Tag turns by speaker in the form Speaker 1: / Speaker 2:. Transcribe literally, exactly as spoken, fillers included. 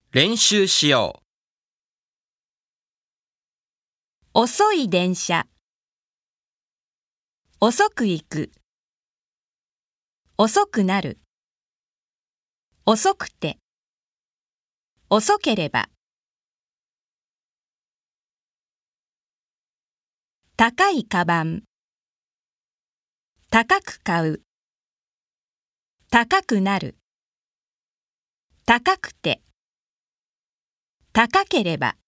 Speaker 1: 練習しよう。
Speaker 2: 遅い電車。遅く行く。遅くなる。遅くて。遅ければ。高いカバン。高く買う。高くなる。高くて。高ければ。